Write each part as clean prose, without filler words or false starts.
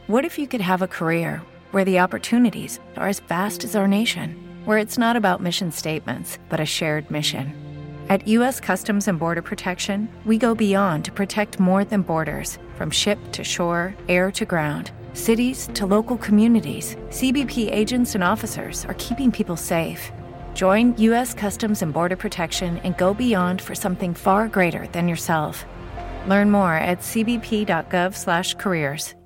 What if you could have a career where the opportunities are as vast as our nation, where it's not about mission statements, but a shared mission? At U.S. Customs and Border Protection, we go beyond to protect more than borders. From ship to shore, air to ground, cities to local communities, CBP agents and officers are keeping people safe. Join U.S. Customs and Border Protection and go beyond for something far greater than yourself. Learn more at cbp.gov/careers.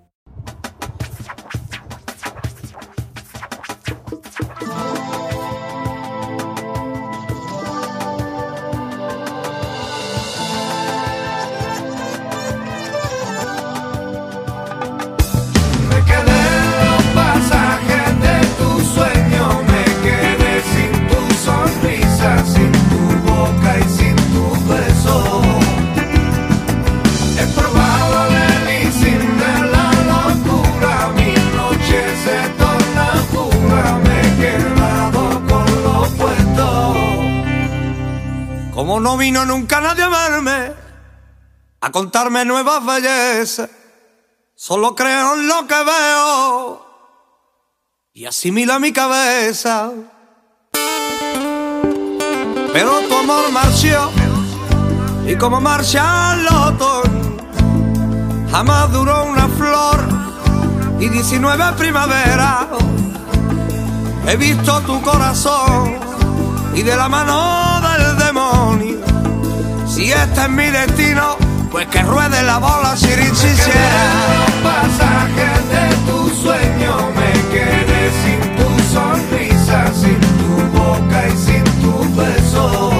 Como no vino nunca nadie a verme, a contarme nuevas bellezas, solo creo en lo que veo y asimila mi cabeza. Pero tu amor marchó, y como marcha el otoño, jamás duró una flor y 19 primaveras. He visto tu corazón y de la mano del demonio. Si este es mi destino, pues que ruede la bola chirichichera. Los pasajes de tu sueño, me quedé sin tu sonrisa, sin tu boca y sin tu beso.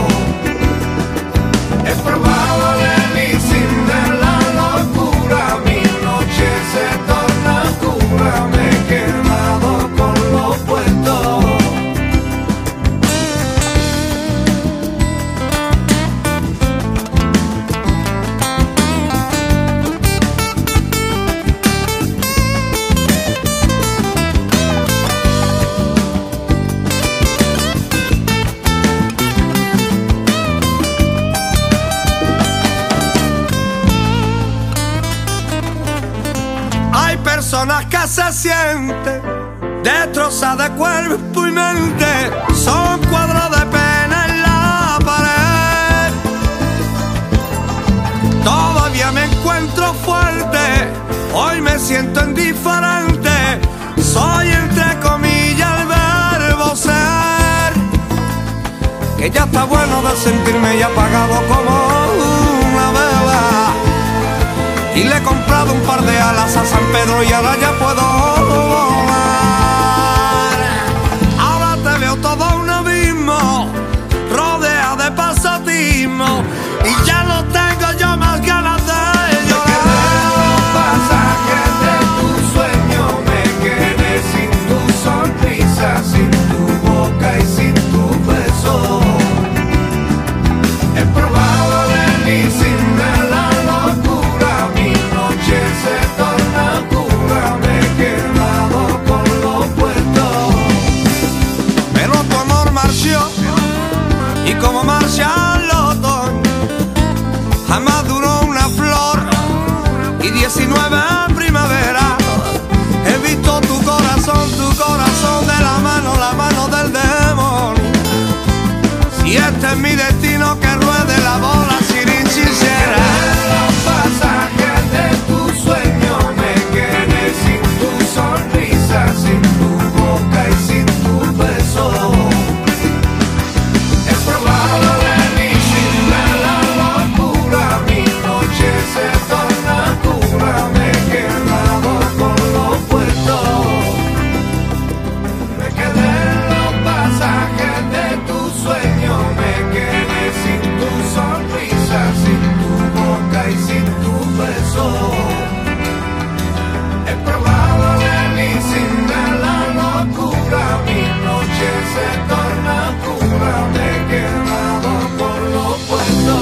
Es probable ni sin ver la locura, mi noche se torna oscura, me he quedado con lo puesto. Personas que se sienten destrozadas de cuerpo y mente, son cuadros de pena en la pared. Todavía me encuentro fuerte, hoy me siento indiferente, soy entre comillas el verbo ser, que ya está bueno de sentirme ya apagado como una vela. Y le he comprado un par de alas a San Pedro y ahora ya puedo volar. Ahora te veo todo un abismo, rodea de pasotismo, y ya no tengo yo más ganas de llorar. Los pasajes de tu sueño, me quedé sin tu sonrisa, sin tu boca y sin tu beso. Es probable ni sin ver la locura, se torna oscura, me he quedado con lo puesto. Pero tu amor marchó, y como marcha el otoño, jamás duró una flor y 19 primavera. He visto tu corazón de la mano del demonio. Si este es mi destino, que ruede la bola sirinchichera. Los pasajes de tu sueño, me quedé sin tu sonrisa, sin tu boca y sin tu beso. Es probable ni sin ver la locura, mi noche se torna oscura, me he quedado con lo puesto. Me quedé en los pasajes de tu sueño, me quedé sin tu sonrisa, sin tu boca y sin tu beso. Es probable ni sin ver la locura, mi noche se torna oscura, me he quedado con lo puesto.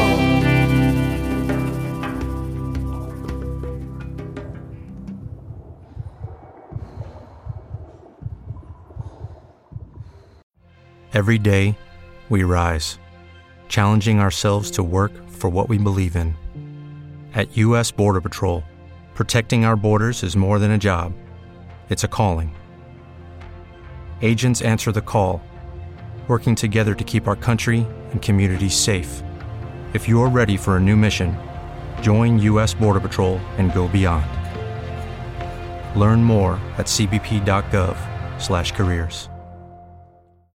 Every day, we rise, challenging ourselves to work for what we believe in. At U.S. Border Patrol, Protecting our borders is more than a job. It's a calling. Agents answer the call, working together to keep our country and communities safe. If you're ready for a new mission, join U.S. Border Patrol and go beyond. Learn more at cbp.gov/careers.